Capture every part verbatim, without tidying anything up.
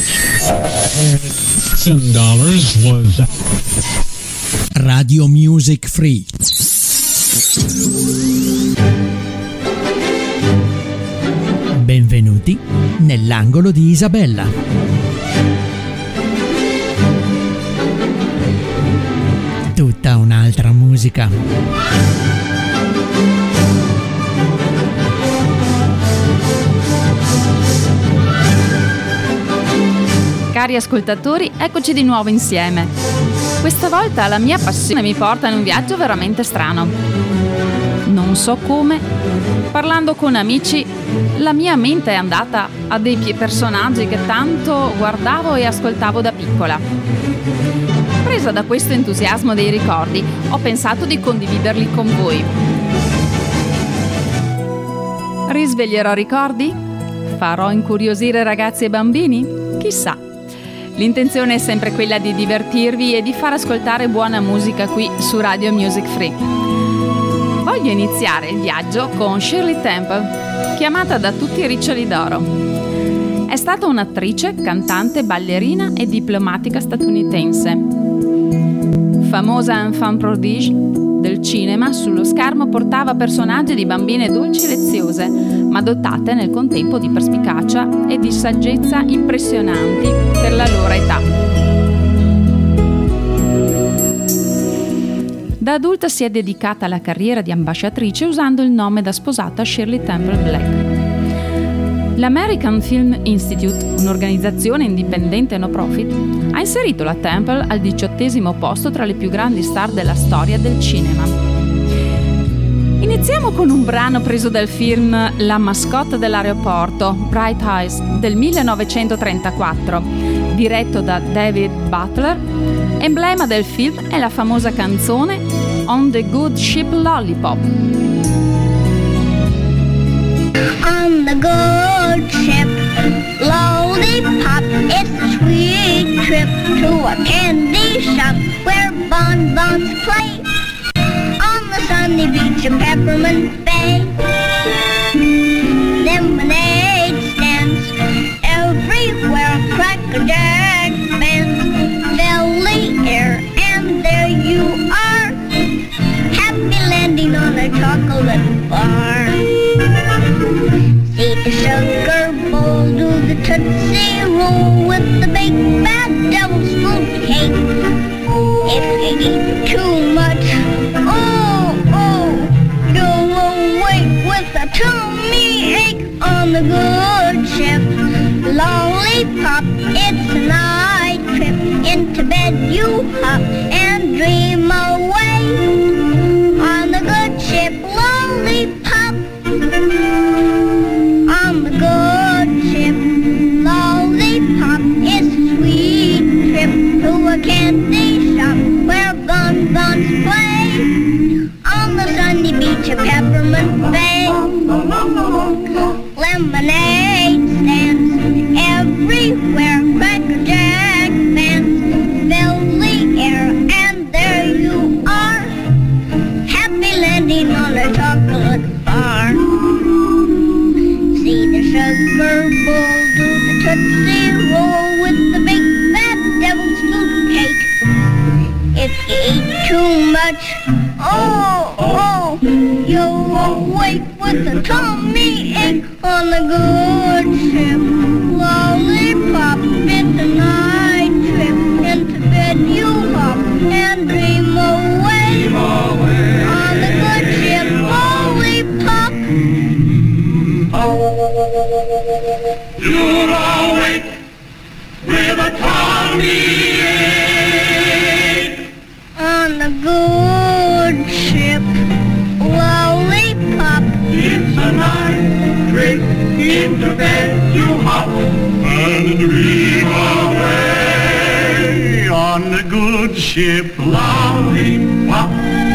Ten dollars was Radio Music Free. Benvenuti nell'angolo di Isabella. Tutta un'altra musica. Cari ascoltatori, eccoci di nuovo insieme. Questa volta la mia passione mi porta in un viaggio veramente strano. Non so come, parlando con amici, la mia mente è andata a dei personaggi che tanto guardavo e ascoltavo da piccola. Presa da questo entusiasmo dei ricordi, ho pensato di condividerli con voi. Risveglierò ricordi? Farò incuriosire ragazzi e bambini? Chissà. L'intenzione è sempre quella di divertirvi e di far ascoltare buona musica qui su Radio Music Free. Voglio iniziare il viaggio con Shirley Temple, chiamata da tutti Riccioli d'Oro. È stata un'attrice, cantante, ballerina e diplomatica statunitense. Famosa enfant prodige del cinema, sullo schermo portava personaggi di bambine dolci e leziose, ma dotate nel contempo di perspicacia e di saggezza impressionanti per la loro età. Da adulta si è dedicata alla carriera di ambasciatrice usando il nome da sposata Shirley Temple Black. L'American Film Institute, un'organizzazione indipendente no profit, ha inserito la Temple al diciottesimo posto tra le più grandi star della storia del cinema. Iniziamo con un brano preso dal film La mascotte dell'aeroporto, Bright Eyes, del millenovecentotrentaquattro, diretto da David Butler. Emblema del film è la famosa canzone On the Good Ship Lollipop. On the good ship, lollipop, it's a sweet trip to a candy shop where bonbons play on the sunny beach of Peppermint Bay. Lemonade stands everywhere, Cracker Jack bands fill the air, and there you are, happy landing on a chocolate bar. See the sugar bowl, do the Tootsie Roll with the big bad devil's food cake. If you eat too much, oh, oh, you'll awake with a tummy ache. On the good ship, lollipop, it's a night trip. Into bed you hop and dream away. On the good ship, lollipop. On the good ship, lollipop, it's a sweet trip to a candy shop where bonbons play on the sunny beach of Peppermint Bay. Lemonade stands everywhere, Cracker Jack fans fill the air, and there you are, happy landing on a chocolate bar. See the sugar bowl, do the Tootsie Roll with the big fat devil's food cake. If you eat too much, oh, oh, you'll awake with a tummy ache. On the good ship, lollipop, it's a night trip. Into bed you hop and dream away. Dream away. On the good ship, lollipop. You're awake with a tummy ache. On the good ship, lollipop. It's a night trick. Into bed you hop and dream away. On the good ship, lollipop.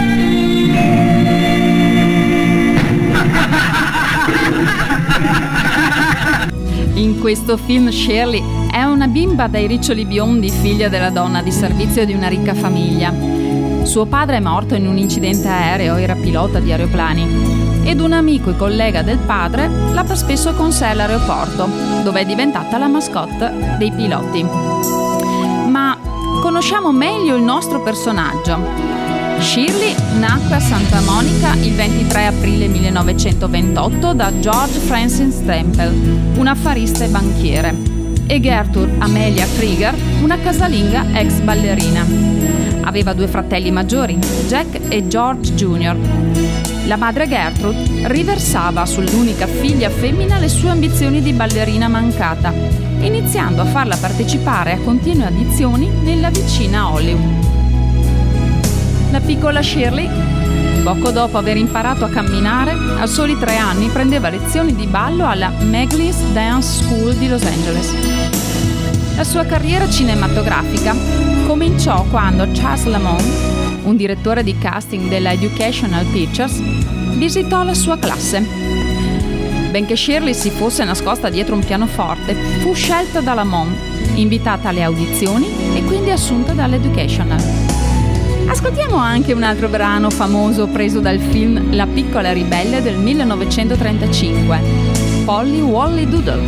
In questo film Shirley è una bimba dai riccioli biondi, figlia della donna di servizio di una ricca famiglia. Suo padre è morto in un incidente aereo, era pilota di aeroplani, ed un amico e collega del padre l'ha spesso con sé all'aeroporto, dove è diventata la mascotte dei piloti. Ma conosciamo meglio il nostro personaggio. Shirley nacque a Santa Monica il ventitré aprile millenovecentoventotto da George Francis Temple, un affarista e banchiere, e Gertrude Amelia Krieger, una casalinga ex ballerina. Aveva due fratelli maggiori, Jack e George junior La madre Gertrude riversava sull'unica figlia femmina le sue ambizioni di ballerina mancata, iniziando a farla partecipare a continue audizioni nella vicina Hollywood. La piccola Shirley, poco dopo aver imparato a camminare, a soli tre anni prendeva lezioni di ballo alla Meglis Dance School di Los Angeles. La sua carriera cinematografica cominciò quando Charles Lamont, un direttore di casting della Educational Pictures, visitò la sua classe. Benché Shirley si fosse nascosta dietro un pianoforte, fu scelta da Lamont, invitata alle audizioni e quindi assunta dall'Educational. Ascoltiamo anche un altro brano famoso preso dal film La piccola ribelle del millenovecentotrentacinque, Polly Wolly Doodle.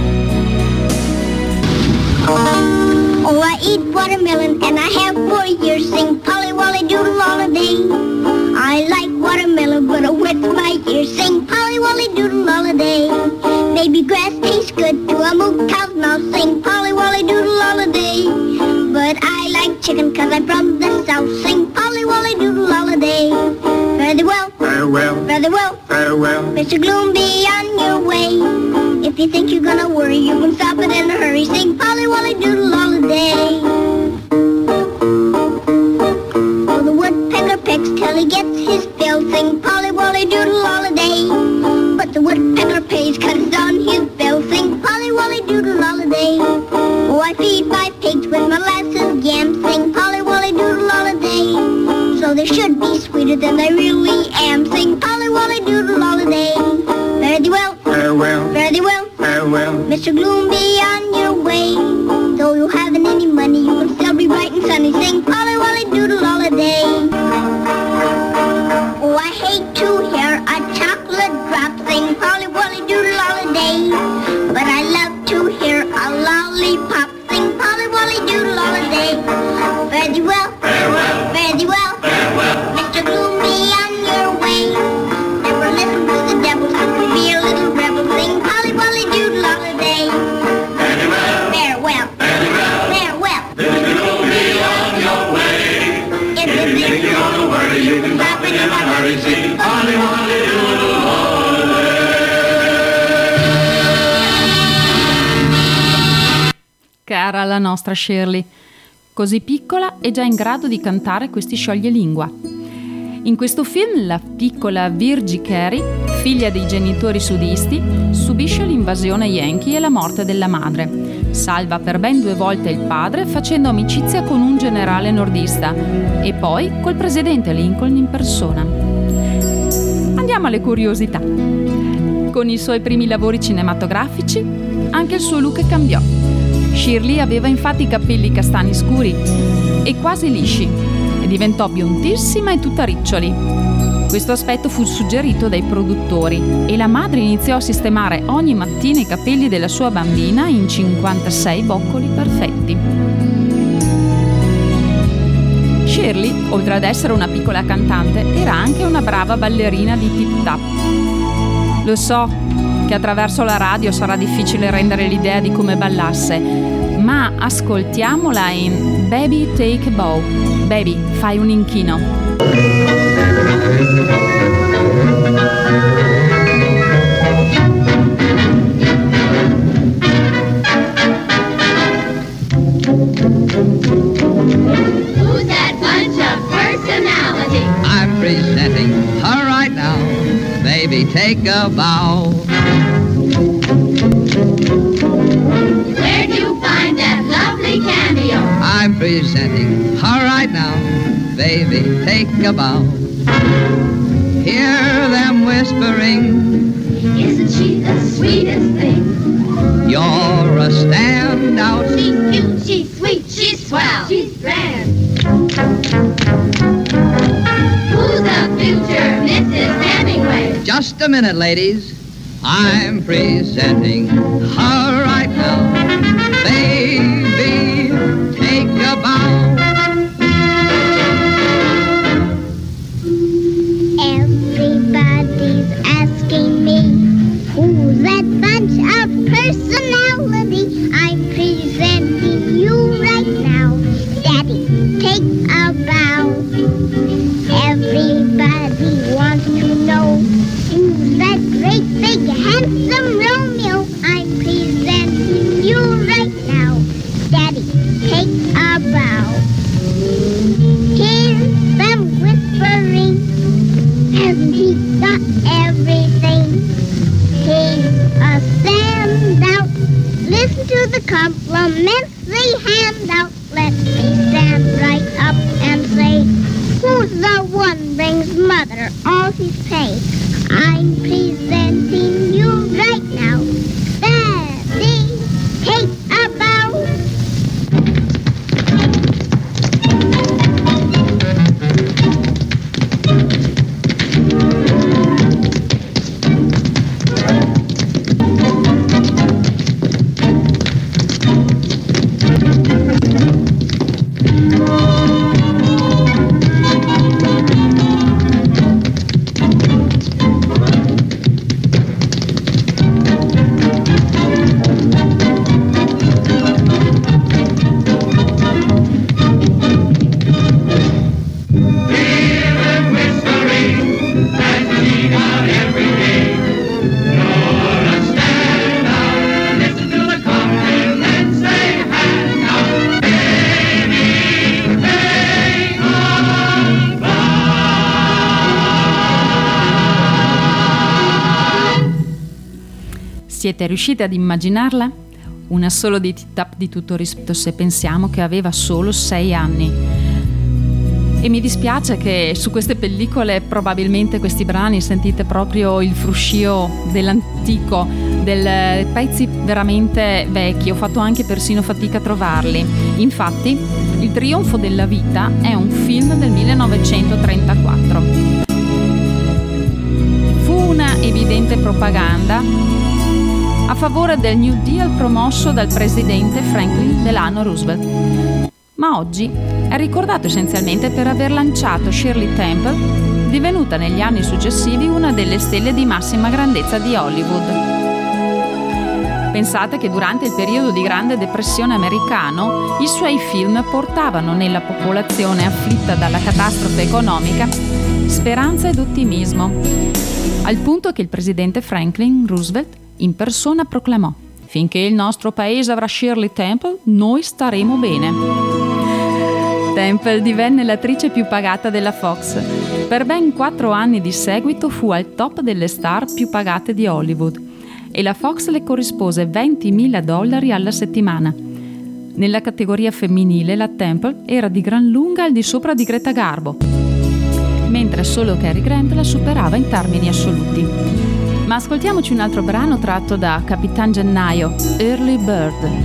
Oh, I eat watermelon and I have four years. Sing Polly Wolly Doodle all the day. I like watermelon but it wets my ears. Sing Polly Wolly Doodle all the day. Baby grass tastes good to a moo cow's mouth. Sing Polly Wolly Doodle all the day. But I like chicken cause I'm from the south. Sing Polly Wolly Doodle all the day. Very well, Farewell, very well, farewell. Mister Gloom, be on your way. If you think you're gonna worry, you can stop it in a hurry. Sing Polly Wolly Doodle all the day. Oh, the woodpecker pecks till he gets his fill. Sing Polly Wolly Doodle all the day. But the woodpecker pays cause it's on his bill. Sing Polly Wolly Doodle all the day. Oh, I feed my pigs with molasses yams. Sing Polly Wolly Doodle all the day. So they should be sweeter than they really am. Sing Polly Wolly Doodle all the day. Very well, Farewell, very well, farewell. Mister Gloom, be on your way. Though you haven't any money, you can still be bright and sunny. Sing Polly Wolly Doodle all the day. Oh, I hate to hear a chocolate drop. Sing Polly Wolly Doodle all the day. But I love to hear a lollipop. Sing Polly Wolly Doodle all the day. Very well, Farewell, very well, farewell. Mister Gloom, be on your way. Never listen to the devil, so be a little rebel. Sing Polly Wolly Doodle all the day. Farewell, Farewell, farewell. Mister Gloom, be on your way. If you think You're gonna worry, you can stop it in a hurry. Sing Polly Wolly Doodle all the day. Cara la nostra Shirley, così piccola e già in grado di cantare questi scioglilingua. In questo film la piccola Virgie Carey, figlia dei genitori sudisti, subisce l'invasione Yankee e la morte della madre. Salva per ben due volte il padre facendo amicizia con un generale nordista e poi col presidente Lincoln in persona. Andiamo alle curiosità. Con i suoi primi lavori cinematografici anche il suo look cambiò. Shirley aveva infatti i capelli castani scuri e quasi lisci e diventò biondissima e tutta riccioli. Questo aspetto fu suggerito dai produttori e la madre iniziò a sistemare ogni mattina i capelli della sua bambina in cinquantasei boccoli perfetti. Shirley, oltre ad essere una piccola cantante, era anche una brava ballerina di tip tap. Lo so che attraverso la radio sarà difficile rendere l'idea di come ballasse, ma ascoltiamola in Baby Take a Bow. Baby, fai un inchino. Who's that bunch of personality? I'm presenting her right now. Baby, take a bow. Where'd you find that lovely cameo? I'm presenting her right now. Baby, take a bow. Hear them whispering. Isn't she the sweetest thing? You're a standout. She's cute, she's sweet, she's swell, she's grand. Just a minute, ladies. I'm presenting her right now. Baby, take a bow. Everybody's asking me, who's that bunch of personality? I'm presenting you right now. Daddy, take a bow. Everybody wants to know, who's that great big handsome Romeo? I'm presenting you right now. Daddy, take a bow. Hear them whispering, hasn't he got everything? He's a standout. Listen to the compliments they hand out. Let me stand right up and say, who's the one brings mother all his pay? I'm presenting you right now. Daddy, take a bow. Siete riusciti ad immaginarla? Una solo di tip-tap di tutto rispetto se pensiamo che aveva solo sei anni. E mi dispiace che su queste pellicole probabilmente questi brani sentite proprio il fruscio dell'antico, del pezzi veramente vecchi. Ho fatto anche persino fatica a trovarli. Infatti, Il trionfo della vita è un film del millenovecentotrentaquattro. Fu una evidente propaganda a favore del New Deal promosso dal presidente Franklin Delano Roosevelt, ma oggi è ricordato essenzialmente per aver lanciato Shirley Temple, divenuta negli anni successivi una delle stelle di massima grandezza di Hollywood. Pensate che durante il periodo di Grande Depressione americano i suoi film portavano nella popolazione afflitta dalla catastrofe economica speranza ed ottimismo, al punto che il presidente Franklin Roosevelt in persona proclamò: finché il nostro paese avrà Shirley Temple, noi staremo bene. Temple divenne l'attrice più pagata della Fox. Per ben quattro anni di seguito fu al top delle star più pagate di Hollywood e la Fox le corrispose ventimila dollari alla settimana. Nella categoria femminile la Temple era di gran lunga al di sopra di Greta Garbo, mentre solo Cary Grant la superava in termini assoluti. Ma ascoltiamoci un altro brano tratto da Capitan Gennaio, Early Bird.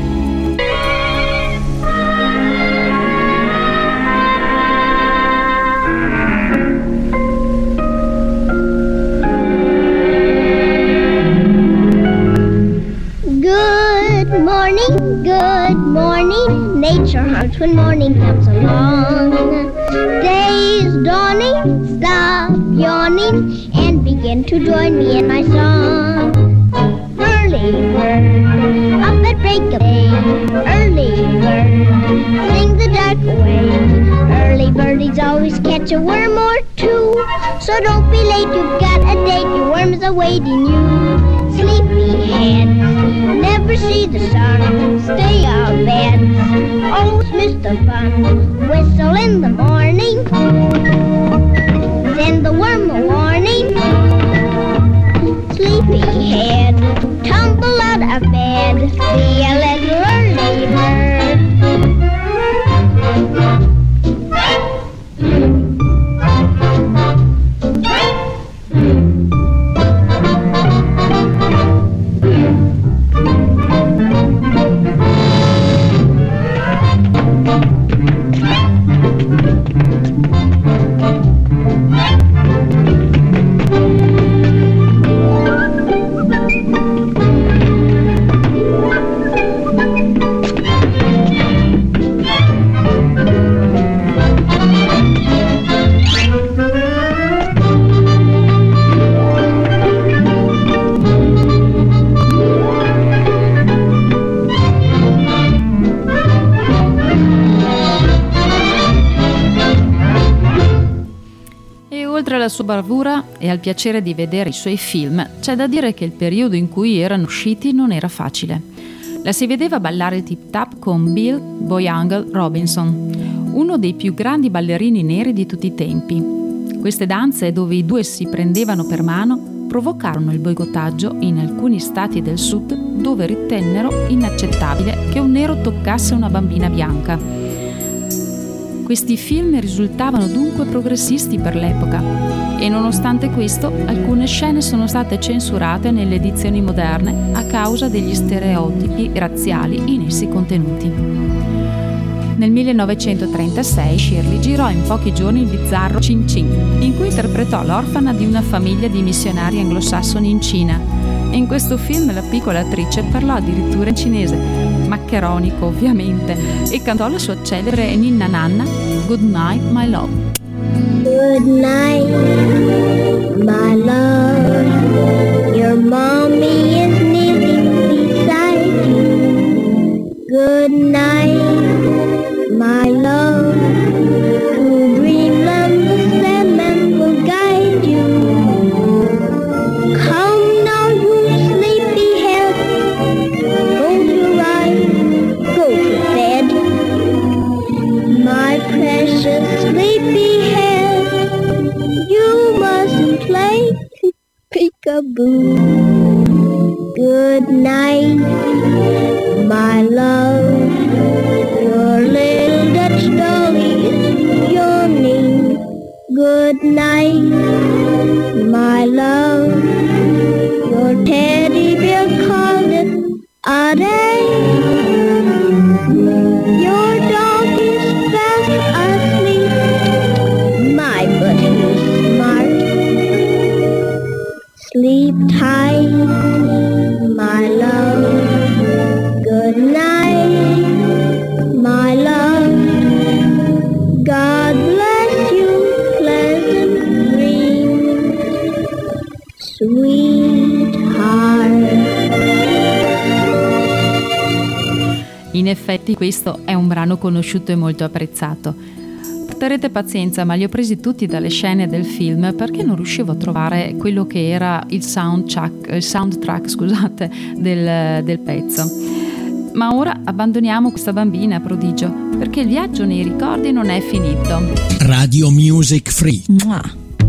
Good morning, good morning. Nature hurts when morning comes along. Day's dawning, stop yawning and begin to join me in my song. Early bird, up at break of day. Early bird, sing the dark away. Early birdies always catch a worm or two, so don't be late, you've got a date, your worm's awaiting you. Sleepyhead, never see the sun, stay out bed, always miss the fun. Whistle in the morning, send the worm a warning. Sleepyhead, tumble out of bed, be a little early bird. bravura e al piacere di vedere i suoi film, c'è da dire che il periodo in cui erano usciti non era facile. La si vedeva ballare tip tap con Bill Boyangle Robinson, uno dei più grandi ballerini neri di tutti i tempi. Queste danze, dove i due si prendevano per mano, provocarono il boicottaggio in alcuni stati del sud, dove ritennero inaccettabile che un nero toccasse una bambina bianca. Questi film risultavano dunque progressisti per l'epoca e nonostante questo alcune scene sono state censurate nelle edizioni moderne a causa degli stereotipi razziali in essi contenuti. Nel millenovecentotrentasei Shirley girò in pochi giorni il bizzarro Chin Chin, in cui interpretò l'orfana di una famiglia di missionari anglosassoni in Cina. E in questo film la piccola attrice parlò addirittura in cinese, maccheronico ovviamente, e cantò la sua celebre Ninna Nanna, Good Night My Love. Good night, my love. Your mommy is kneeling beside you. Good night, my love. To dreamland the Sandman will guide you. Come now, you sleepyhead. Close your eyes, go to bed. My precious sleepyhead, you mustn't play peekaboo. Good night, my love. Your little Dutch dolly is yawning. Good night, my love. Your teddy bear called it a day. Your dog is fast asleep. My, but he's smart. Sleep tight, my love. Good night, my love. God bless you, pleasant dreams, sweetheart. In effetti questo è un brano conosciuto e molto apprezzato. Porterete pazienza, ma li ho presi tutti dalle scene del film perché non riuscivo a trovare quello che era il soundtrack, il soundtrack scusate, del, del pezzo. Ma ora abbandoniamo questa bambina prodigio, perché il viaggio nei ricordi non è finito. Radio Music Free. Mua.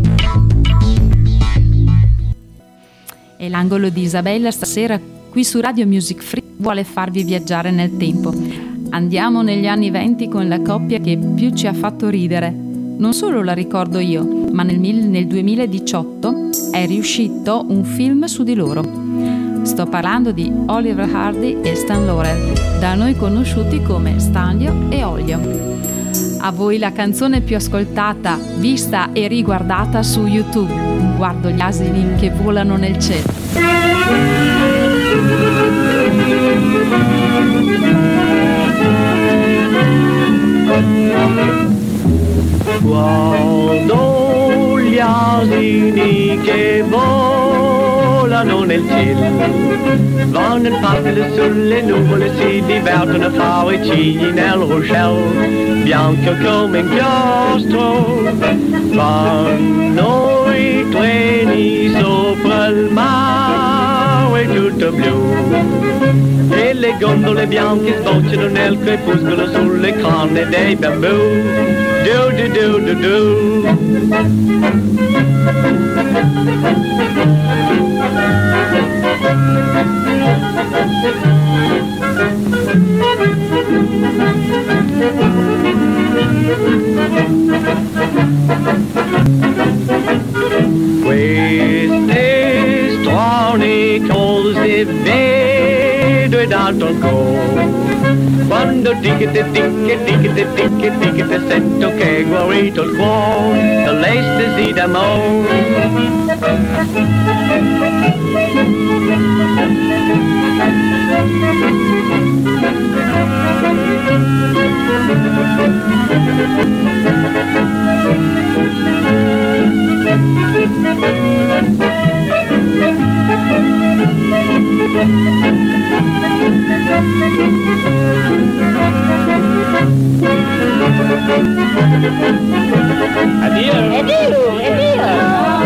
E l'angolo di Isabella stasera qui su Radio Music Free vuole farvi viaggiare nel tempo. Andiamo negli anni venti con la coppia che più ci ha fatto ridere. Non solo la ricordo io, ma nel, nel duemiladiciotto è riuscito un film su di loro. Sto parlando di Oliver Hardy e Stan Laurel, da noi conosciuti come Stanlio e Olio. A voi la canzone più ascoltata, vista e riguardata su YouTube. Guardo gli asini che volano nel cielo. Guardo gli asini che volano nel cielo, vanno in facile sulle nuvole, si divertono a fare cigli nel ruscello, bianco come inchiostro, vanno i treni sopra il mare tutto blu, e le gondole bianche sbocciano nel crepuscolo sulle canne dei bambù. Do do do do do. Queste strane cose vedo ed altro ancora. Quando ticchete, ticche, ticchete, ticche, ticchete, sento che è guarito il cuore dall'estasi d'amore. Addio! Addio! Addio!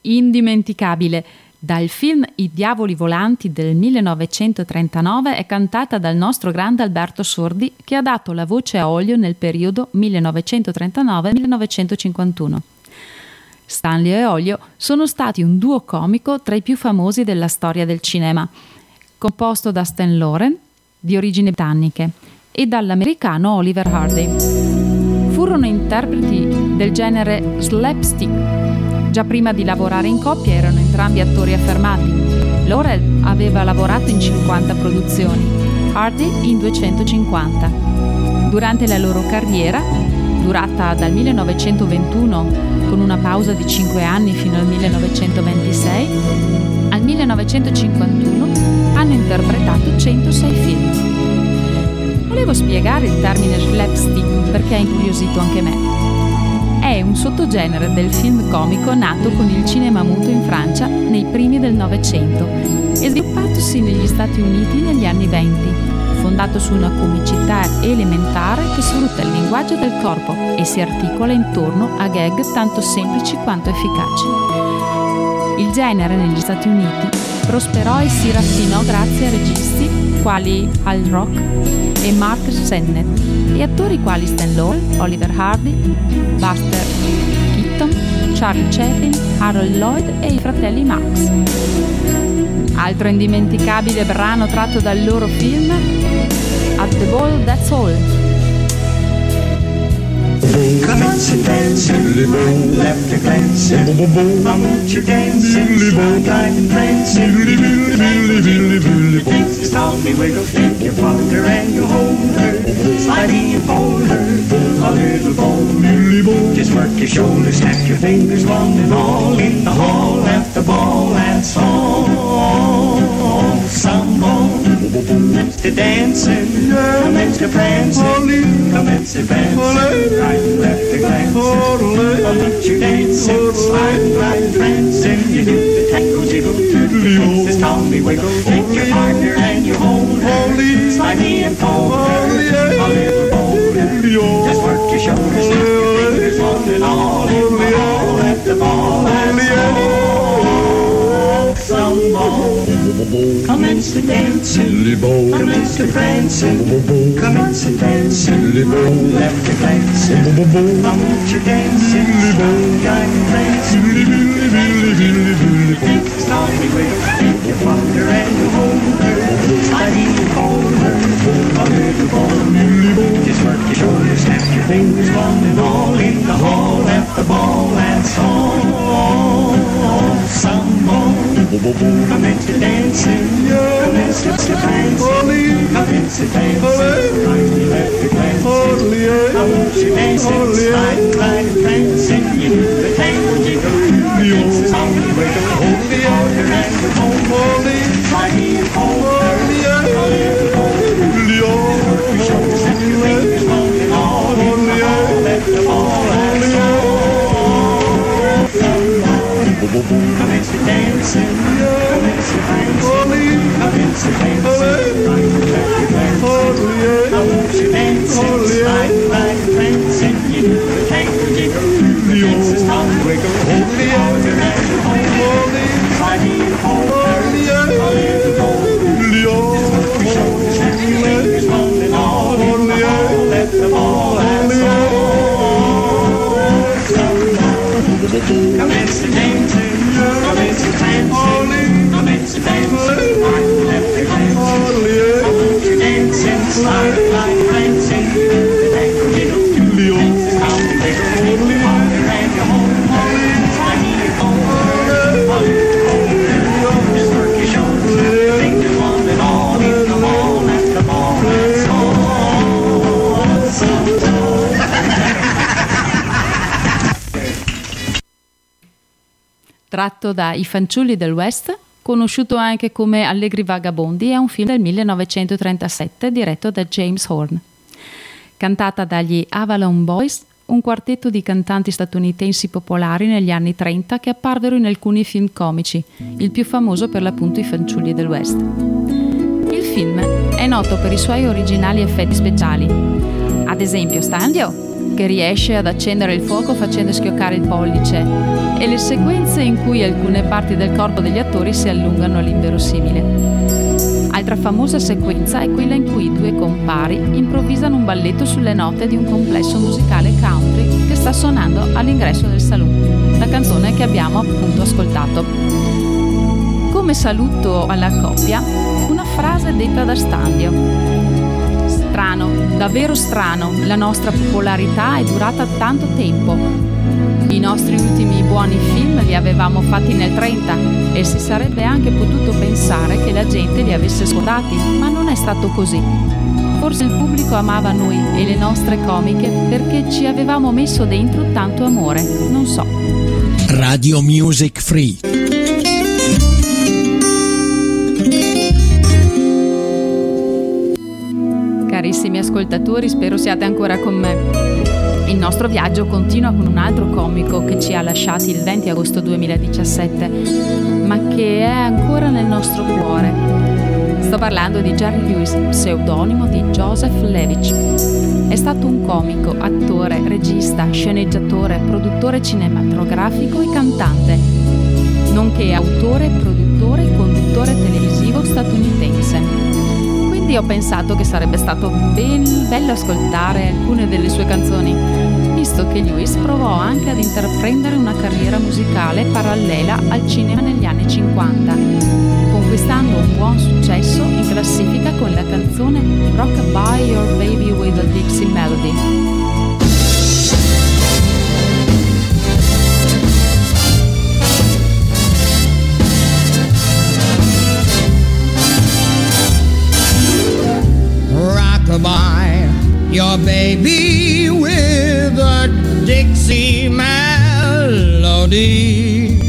indimenticabile. Dal film I diavoli volanti del millenovecentotrentanove è cantata dal nostro grande Alberto Sordi, che ha dato la voce a Ollio nel periodo millenovecentotrentanove millenovecentocinquantuno. Stanlio e Ollio sono stati un duo comico tra i più famosi della storia del cinema, composto da Stan Laurel, di origini britanniche, e dall'americano Oliver Hardy. Furono interpreti del genere slapstick. Già prima di lavorare in coppia erano entrambi attori affermati. Laurel aveva lavorato in cinquanta produzioni, Hardy in duecentocinquanta. Durante la loro carriera, durata dal millenovecentoventuno con una pausa di cinque anni fino al millenovecentoventisei, al millenovecentocinquantuno hanno interpretato centosei film. Volevo spiegare il termine slapstick perché ha incuriosito anche me. È un sottogenere del film comico nato con il cinema muto in Francia nei primi del Novecento e sviluppatosi negli Stati Uniti negli anni venti, fondato su una comicità elementare che sfrutta il linguaggio del corpo e si articola intorno a gag tanto semplici quanto efficaci. Il genere negli Stati Uniti prosperò e si raffinò grazie a registi quali Hal Rock e Mark Sennett e attori quali Stan Laurel, Oliver Hardy, Buster Keaton, Charlie Chaplin, Harold Lloyd e i fratelli Marx. Altro indimenticabile brano tratto dal loro film, At the Ball That's All. Commence and dance, right, left a glance, won't you dance, slide and prance, things taught me wiggle, take your father and you hold her, slidey and fold her, a little bowl, just work your shoulders, snap your fingers, one and all, in the hall, left the ball, that's all, some more. Commence to dancing, commence to prancing, commence to prancing, right and left to glancing. Commence your dancing, slide and glide and prancing. You do the tango jiggle, the princess Tommy wiggle. Take your partner and you hold her, slide me and fold her, a little bolder. Just work your shoulders, snap your fingers, one and all, in the hall at the ball, that's all. Some more. Commence to dancing, commence to prancing, commence to dancing, left to glancing, commence to dancing, slide and prancing, start me wiggle, take your father and you hold her, sliding and hold her, a little ball, just work your shoulders, snap your fingers, one and all, in the hall, at the ball, that's all, some more. Commence to dancing, commence to prancing, commence to dancing, right, left to glancing, commence to dancing, slide and glide and prancing, you do the tango jiggle, commence to wiggle, hold the order and the hold, sliding and hold her, a little bolder, work your shoulders, snap your fingers, one and all, in the hall, let the ball, that's all, some more. Commence to dancing, commence to prancing, commence to dancing, right and left to glancing, commence to dancing, slide and glide and prancing, you do the tango jiggle, the princess Tommy wiggle, hold the order and the hold, sliding and hold her, a little bolder, just work your shoulders, snap your fingers, one and all, in the hall, let the ball, that's all, some more. Commence to dancing, commence to prancing, commence to dancing, right and left to glancing, commence to dancing, slide and glide and prancing, the tango jiggle, the princess Tommy wiggle, the father and your home, sliding and hold her, just work your shoulders, snap your fingers, one and all, in the ball, at the ball, that's all, some more. Tratto da I fanciulli del West, conosciuto anche come Allegri vagabondi, è un film del millenovecentotrentasette diretto da James Horner. Cantata dagli Avalon Boys, un quartetto di cantanti statunitensi popolari negli anni trenta che apparvero in alcuni film comici, il più famoso per l'appunto I fanciulli del West. Il film è noto per i suoi originali effetti speciali. Ad esempio, Stanlio che riesce ad accendere il fuoco facendo schioccare il pollice, e le sequenze in cui alcune parti del corpo degli attori si allungano all'inverosimile. Altra famosa sequenza è quella in cui i due compari improvvisano un balletto sulle note di un complesso musicale country che sta suonando all'ingresso del saloon, la canzone che abbiamo appunto ascoltato. Come saluto alla coppia, una frase detta da Standio. Strano, davvero strano, la nostra popolarità è durata tanto tempo. I nostri ultimi buoni film li avevamo fatti nel trenta e si sarebbe anche potuto pensare che la gente li avesse scordati, ma non è stato così. Forse il pubblico amava noi e le nostre comiche perché ci avevamo messo dentro tanto amore, non so. Radio Music Free. Carissimi ascoltatori, spero siate ancora con me. Il nostro viaggio continua con un altro comico che ci ha lasciati il venti agosto duemiladiciassette, ma che è ancora nel nostro cuore. Sto parlando di Jerry Lewis, pseudonimo di Joseph Levitch. È stato un comico, attore, regista, sceneggiatore, produttore cinematografico e cantante, nonché autore, produttore e conduttore televisivo statunitense. Quindi ho pensato che sarebbe stato ben bello ascoltare alcune delle sue canzoni, visto che Lewis provò anche ad intraprendere una carriera musicale parallela al cinema negli anni cinquanta, conquistando un buon successo in classifica con la canzone Rockabye Your Baby with a Dixie Melody. Rockabye your baby with a Dixie melody.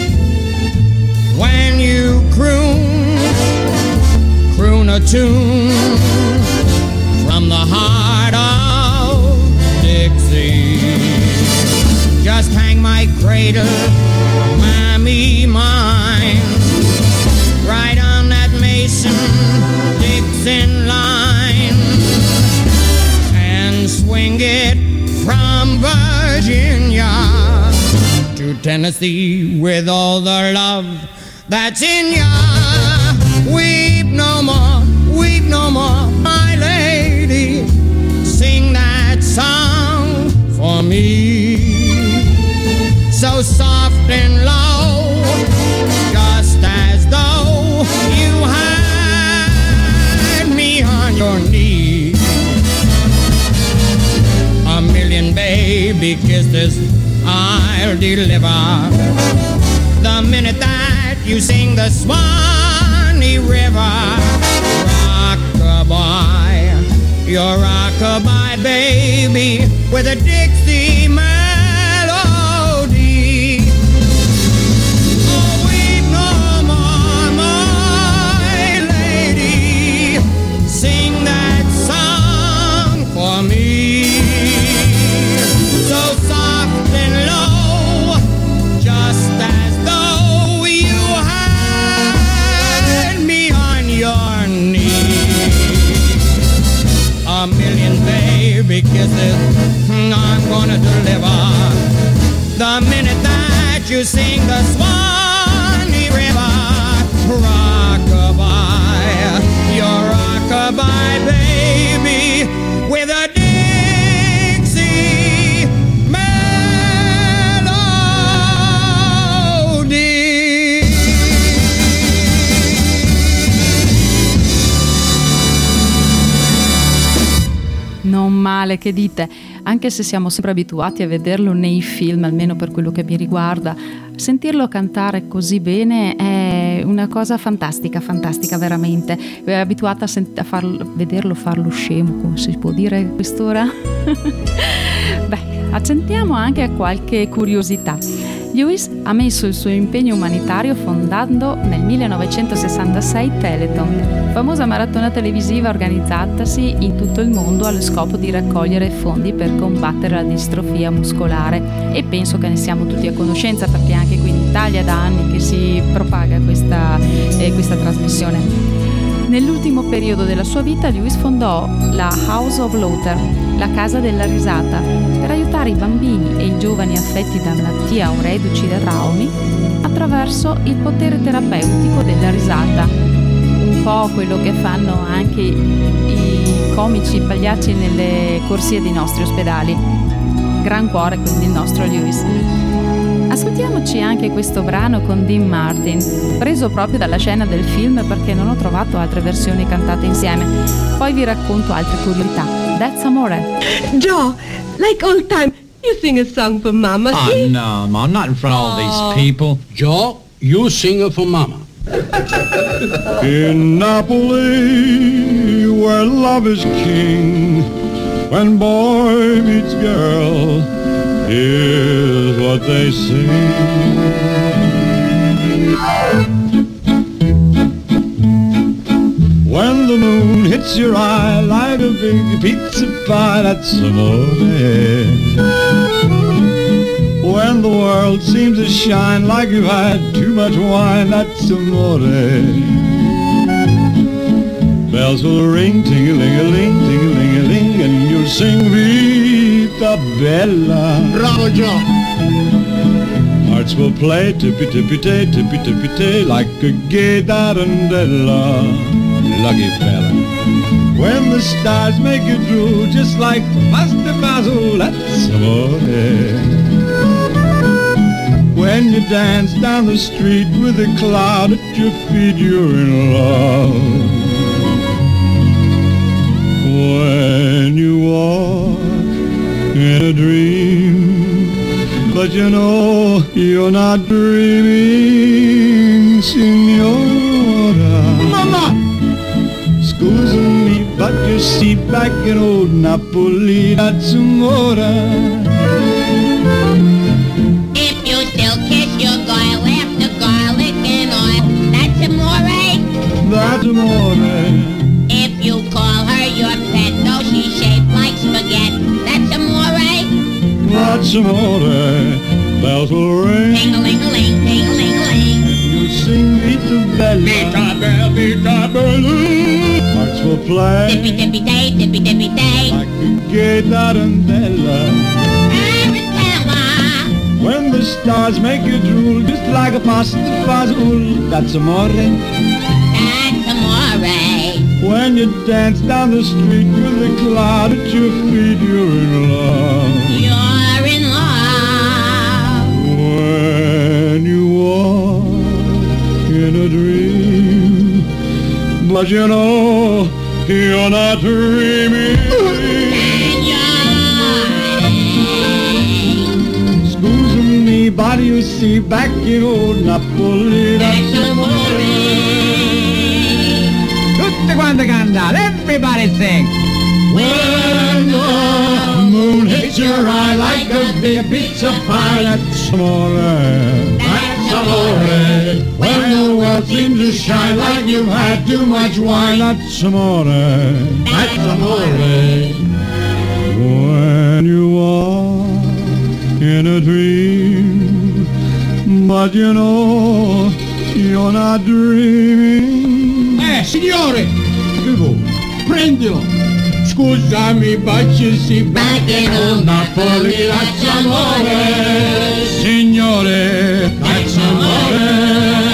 When you croon, croon a tune from the heart of Dixie. Just hang my cradle, mammy mine, right on that Mason-Dixon line, and swing it from Virginia to Tennessee with all the love that's in ya. Weep no more, weep no more, my lady, sing that song for me. So soft and low, just as though you had me on your knee. A million baby kisses I'll deliver the minute that you sing the Swanee River. Rockabye, your rockabye baby with a Dixie melody. Oh, weep no more, my lady, sing that song for me. So soft and low, just as though you had me on your knee. A million baby kisses I'm gonna deliver the minute that you sing the Swanee River. Rockabye, your rockabye baby with a Dixie melody. Non male, che dite? Anche se siamo sempre abituati a vederlo nei film, almeno per quello che mi riguarda, sentirlo cantare così bene è una cosa fantastica, fantastica veramente. È abituata a, sent- a farlo, vederlo farlo scemo, come si può dire a quest'ora? Beh, accendiamo anche a qualche curiosità. Lewis ha messo il suo impegno umanitario fondando nel millenovecentosessantasei Telethon, famosa maratona televisiva organizzatasi in tutto il mondo allo scopo di raccogliere fondi per combattere la distrofia muscolare, e penso che ne siamo tutti a conoscenza perché anche qui in Italia da anni che si propaga questa, eh, questa trasmissione. Nell'ultimo periodo della sua vita Lewis fondò la House of Laughter, la casa della risata, per aiutare i bambini e i giovani affetti da malattia o reduci da traumi attraverso il potere terapeutico della risata. Un po' quello che fanno anche i comici, i pagliacci nelle corsie dei nostri ospedali. Gran cuore quindi il nostro Lewis. Ascoltiamoci anche questo brano con Dean Martin, preso proprio dalla scena del film perché non ho trovato altre versioni cantate insieme. Poi vi racconto altre curiosità. That's Amore. Joe, like old time, you sing a song for Mama. Oh, no, Mom, not in front of all these people. Joe, you sing it for Mama. In Napoli, where love is king, when boy meets girl, here's what they sing. When the moon hits your eye like a big pizza pie, that's amore. When the world seems to shine like you've had too much wine, that's amore. Bells will ring, ting-a-ling-a-ling, ting-a-ling-a-ling, and you'll sing Vita Bella. Bravo, Joe. Hearts will play tippy-tippy-tay, tippy-tippy-tay, like a gay tarantella. Lucky fella. When the stars make you drool, just like pasta fazool, that's amore. When you dance down the street with a cloud at your feet, you're in love. When you walk in a dream, but you know you're not dreaming, signora. Mama! Scusa me, but you see back in old Napoli, that's amore. That's amore. If you call her your pet, though she's shaped like spaghetti, that's amore. That's amore. Bells will ring. Ting-a-ling-a-ling, ting-a-ling-a-ling. You sing Vita Bella. Vita Bella, Vita Bella. Hearts will play. Tippy-tippy-tay, tippy-tippy-tay. Like a gay tarantella. Tarantella. When the stars make you drool, just like a pasta fazool, that's amore. That's amore. When you dance down the street with a cloud at your feet, you're in love. You're in love. When you walk in a dream, but you know you're not dreaming. Scusa me, but you see back in old Napoli, that's amore. Tutte quante cantate, everybody sing. When the moon hits your eye like a big pizza pie, that's amore. That's amore. When the world seems to shine like you've had too much wine, that's amore. That's amore. When you are in a dream, but you know you're not dreaming. Eh, signore! Prendilo! Scusami, but you see back in old Napoli, that's amore. Signore, that's amore.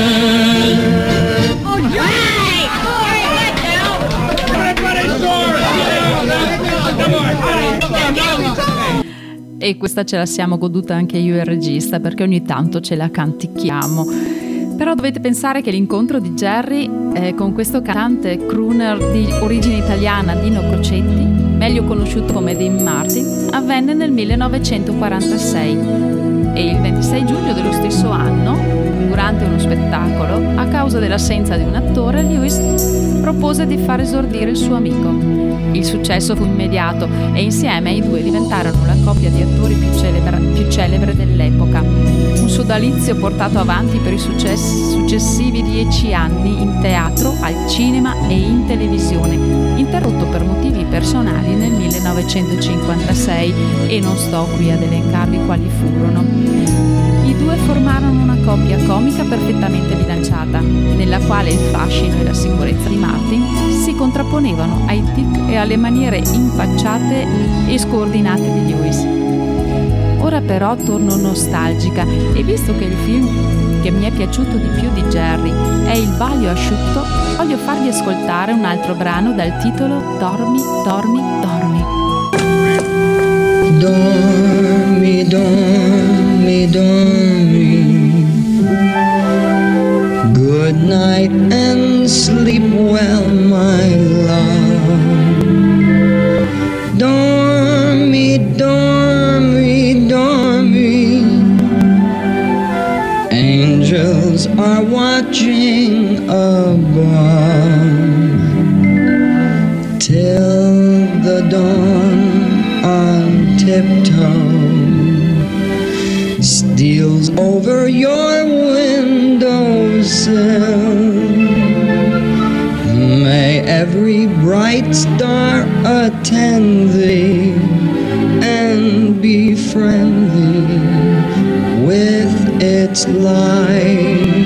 E questa ce la siamo goduta anche io e il regista, perché ogni tanto ce la canticchiamo. Però dovete pensare che l'incontro di Jerry eh, con questo cantante crooner di origine italiana, Dino Crocetti, meglio conosciuto come Dean Martin, avvenne nel millenovecentoquarantasei e il ventisei giugno dello stesso anno, durante uno spettacolo, a causa dell'assenza di un attore, Lewis propose di far esordire il suo amico. Il successo fu immediato e insieme i due diventarono la coppia di attori più, celebra- più celebre dell'epoca. Un sodalizio portato avanti per i successi, successivi dieci anni in teatro, al cinema e in televisione, interrotto per motivi personali nel millenovecentocinquantasei, e non sto qui ad elencarvi quali furono. I due formarono una coppia comica perfettamente bilanciata, nella quale il fascino e la sicurezza di Martin si contrapponevano ai tic e alle maniere impacciate e scordinate di Lewis. Ora però torno nostalgica, e visto che il film che mi è piaciuto di più di Jerry è Il Baglio asciutto, voglio farvi ascoltare un altro brano dal titolo Dormi, dormi, dormi. Dormi, dormi, dormi. Good night and sleep well, my love. Dormi, dormi, dormi. Angels are watching above till the dawn on tiptoe steals over your windowsill. May every bright star attend thee and be friendly with its light.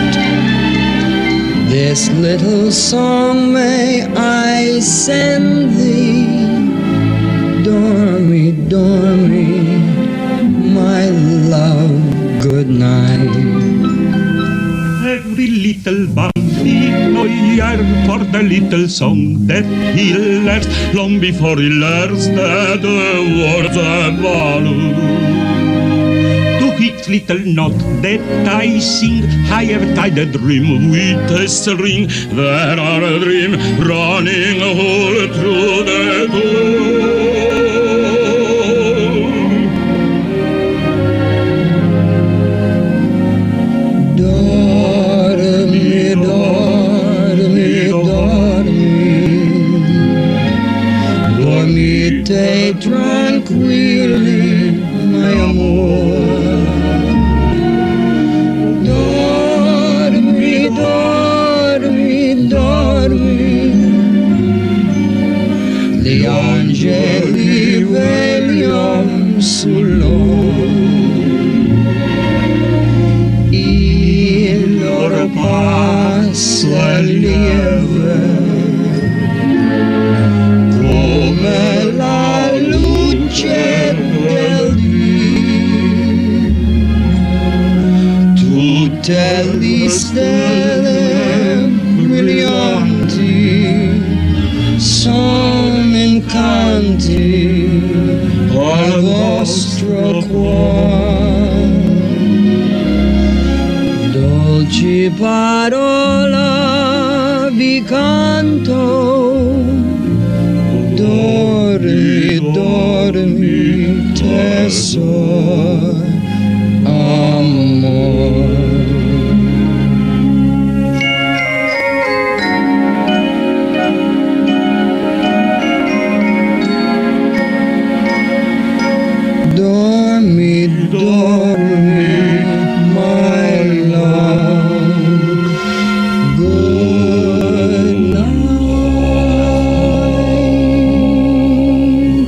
This little song may I send thee. Dormi, dormi, my love, good night. Every little bambino yearn for the little song that he learns long before he learns that the words are value. To each little note that I sing, higher tide a dream with a string. There are a dream running all through the door. Dormite tranquilli, my amor. Dormi, dormi, dormi. Gli angeli vegliano sul loro. Il loro passo è lieve come la luce del dì. Tutte le stelle brillanti sono incanti al vostro cuore. Dolci parola vi canto. Dormi, dormi, tesoro, amor. Dormi, dormi, my love, good night.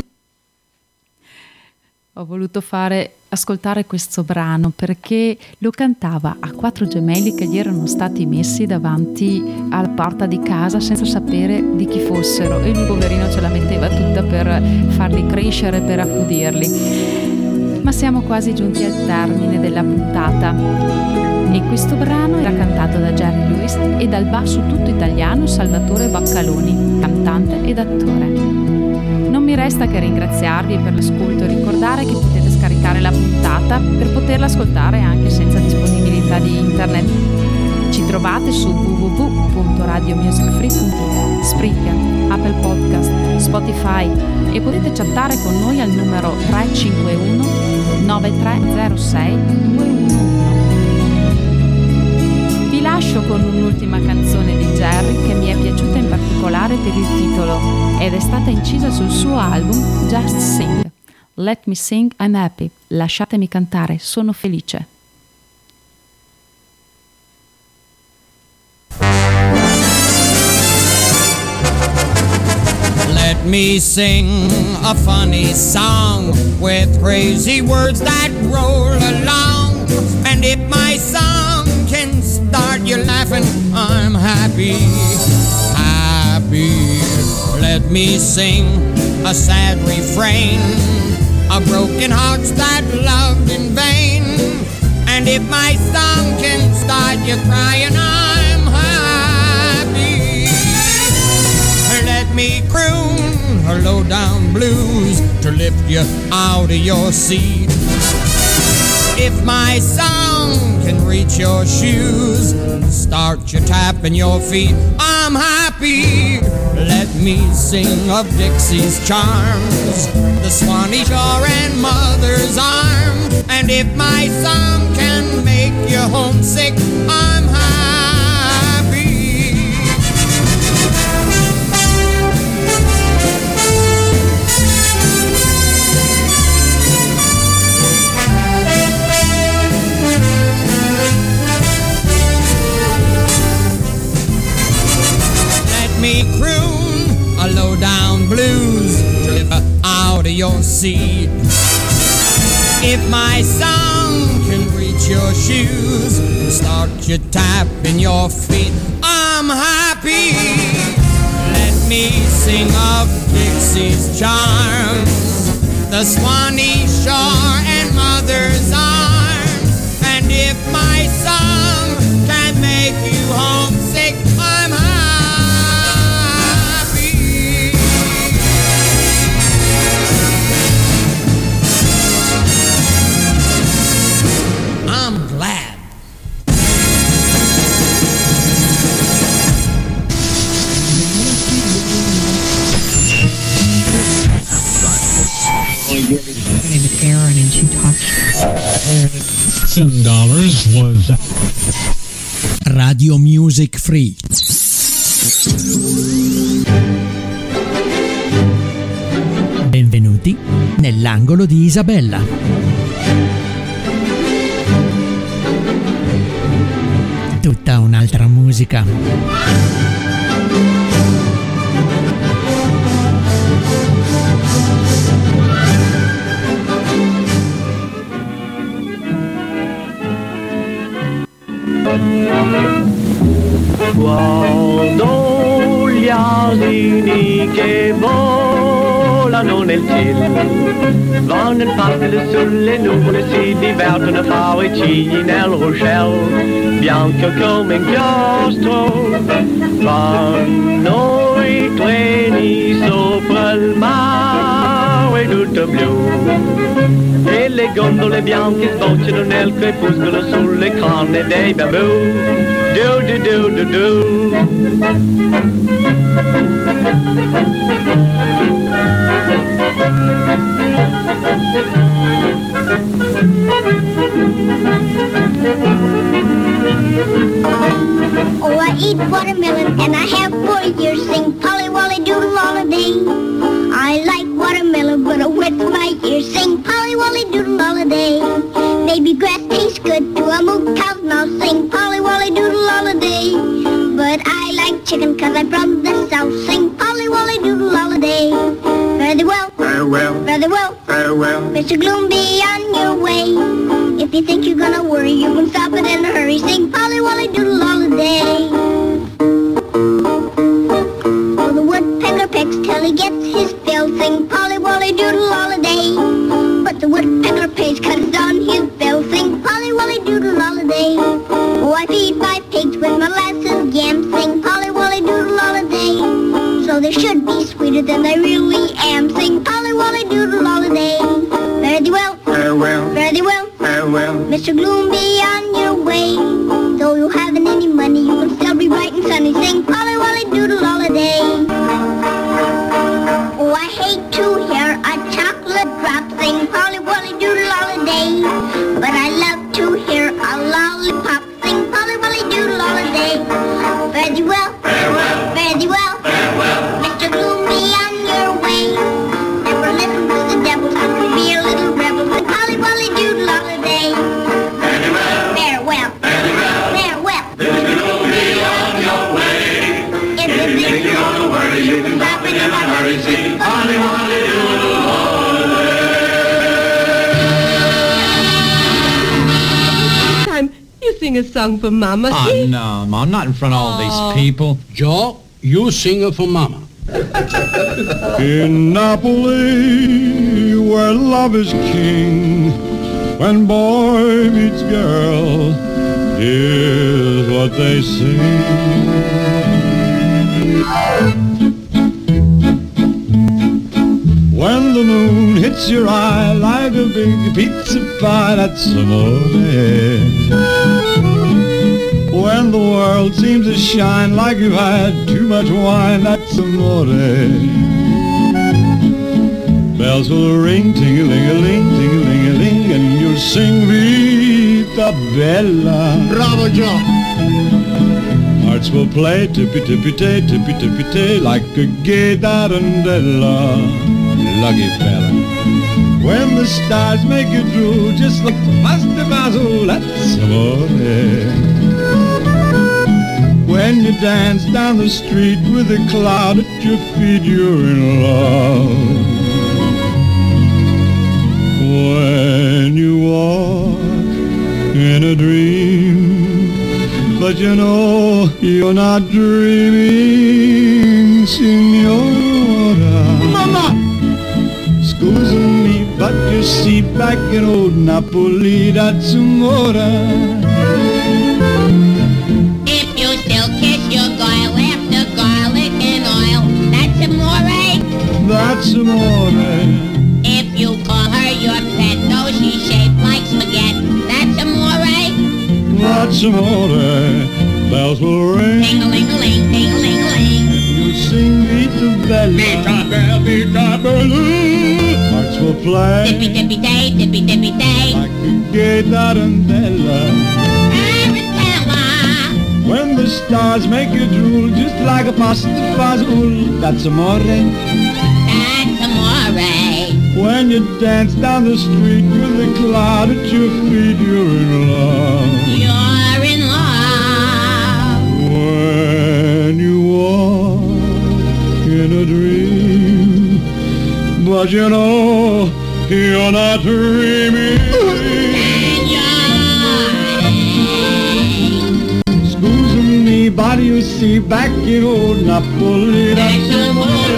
Ho voluto fare ascoltare questo brano perché lo cantava a quattro gemelli che gli erano stati messi davanti alla porta di casa senza sapere di chi fossero, e lui poverino ce la metteva tutta per farli crescere, per accudirli. Ma siamo quasi giunti al termine della puntata e questo brano era cantato da Jerry Lewis e dal basso tutto italiano Salvatore Baccaloni, cantante ed attore. Non mi resta che ringraziarvi per l'ascolto e ricordare che potete scaricare la puntata per poterla ascoltare anche senza disponibilità di internet. Ci trovate su w w w punto radio music free punto it, Spreaker, Apple Podcast, Spotify e potete chattare con noi al numero tre cinque uno nove tre zero sei due uno uno. Vi lascio con un'ultima canzone di Jerry che mi è piaciuta in particolare per il titolo ed è stata incisa sul suo album Just Sing, Let me sing, I'm happy. Lasciatemi cantare, sono felice. Let me sing a funny song with crazy words that roll along. And if my song can start you laughing, I'm happy, happy. Let me sing a sad refrain of broken hearts that loved in vain. And if my song can start you crying, I'm happy. Let me croon her low-down blues to lift you out of your seat. If my song can reach your shoes, start you tapping your feet, I'm happy. Let me sing of Dixie's charms, the Swanee shore and mother's arm. And if my song can make you homesick, I'm happy. Me croon a low-down blues to lift out of your seat. If my song can reach your shoes and start you tapping your feet, I'm happy. Let me sing of Dixie's charms, the Swanee shore and mother's arms. And if my song can make you homesick, I'm happy. I'm glad. Aaron and she talked. Seven dollars was Radio Music Free. Benvenuti nell'angolo di Isabella. Tutta un'altra musica. Guardo gli asini che volano nel cielo, vanno in pattole sulle nuvole, si divertono a fare i cigli nel ruscello, bianco come inchiostro, vanno i treni sopra il mare tutto blu, e le gondole bianche sbocciano nel crepuscolo sulle canne dei bambù. Do do do do do. Oh, I eat watermelon and I have four years. Sing Polly Wolly Doodle all a day. I like watermelon, but it wets my ears. Sing Polly Wolly Doodle all a day. Baby grass tastes good to a moo cow's mouth. Sing Polly Wolly Doodle all a day. But I like chicken cause I'm from the south. Sing Polly Wolly Doodle all a day. Very well, very well, very well, very well. Mister Gloom, be on your way. If you think you're gonna worry, you can stop it in a hurry. Sing Polly Wolly Doodle all a day. Oh, the woodpecker pecks till he gets his fill. Sing Polly Wolly Doodle all a day. But the woodpecker pays cause it's on his bill. Sing Polly Wolly Doodle all a day. Oh, I feed my pigs with molasses yams. Sing Polly Wolly Doodle all a day. So they should be sweeter than they really am. Sing Polly Wolly Doodle all a day. Very well, very well, very well, very well. Mister Gloom, be on your way. Though you haven't any money, you can still be bright and sunny. Sing Polly Wolly Doodle all a day. Oh, I hate to hear a chocolate drop. Sing Polly Wolly Doodle all a day. But I love to hear a lollipop. Sing Polly Wolly Doodle all a day. Very well, very well, very well, very well. Mister Gloom, be on your way. Never listen to the devil, be sing a song for Mama. Oh, see? no, Mom, not in front of all Oh. these people. Joe, you sing it for Mama. In Napoli, where love is king, when boy meets girl, here's what they sing. When the moon hits your eye like a big pizza pie, that's amore. When the world seems to shine like you've had too much wine, that's amore. Bells will ring, ting-a-ling-a-ling, ting-a-ling-a-ling, and you'll sing Vita Bella. Bravo, Joe. Hearts will play tippy-tippy-tay, tippy-tippy-tay, like a gay tarantella. Lucky fella. When the stars make you drool, just like pasta basil, that's amore. When you dance down the street with a cloud at your feet, you're in love. When you walk in a dream, but you know you're not dreaming, signora. Mama! Scusa me, but you see, back in old Napoli, that's amore. If you still kiss your girl after garlic and oil, that's amore. That's amore. If you call her your pet, though she's shaped like spaghetti, that's amore. That's amore. Bells will ring. Ting-a-ling-a-ling, ting-a-ling-a-ling. You'll sing Vita Bella. Vita Bella, Vita Bella. Hearts will play. Tippy-tippy-tay, tippy-tippy-tay. Like a gay tarantella. Tarantella. When the stars make you drool, just like a pasta fazool, that's amore. That's amore. When you dance down the street with a cloud at your feet, you're in love. You're in love. When you walk in a dream, but you know you're not dreaming. Scusa me, body you see, back in old Napoli, that's amore.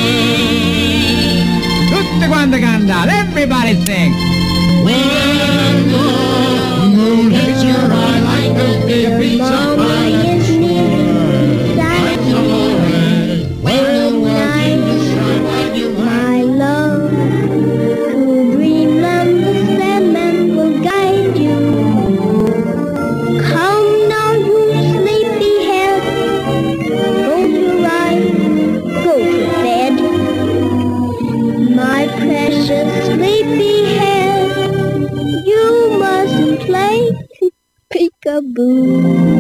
Tutti quanti cantare, everybody sing. When the moon hits your eye like a big pizza pie, that's amore. When the world seems to shine like you My love, to dreamland the Sandman will guide you. Come now, you sleepyhead, close your eyes, go to bed. My precious sleepyhead, you mustn't play peekaboo.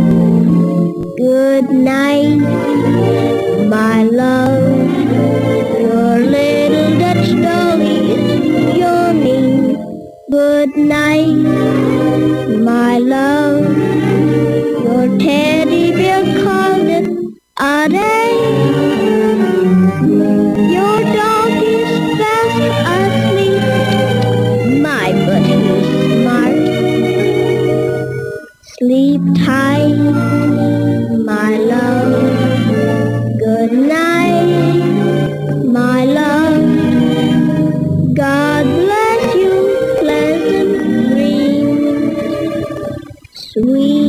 Good night, my love. Your little Dutch doggy is yawning. Good night, my love. Your teddy bear called it a day. Your dog is fast asleep. My, but he's smart. Sleep tight, my love. Good night, my love. God bless you, pleasant dreams, sweet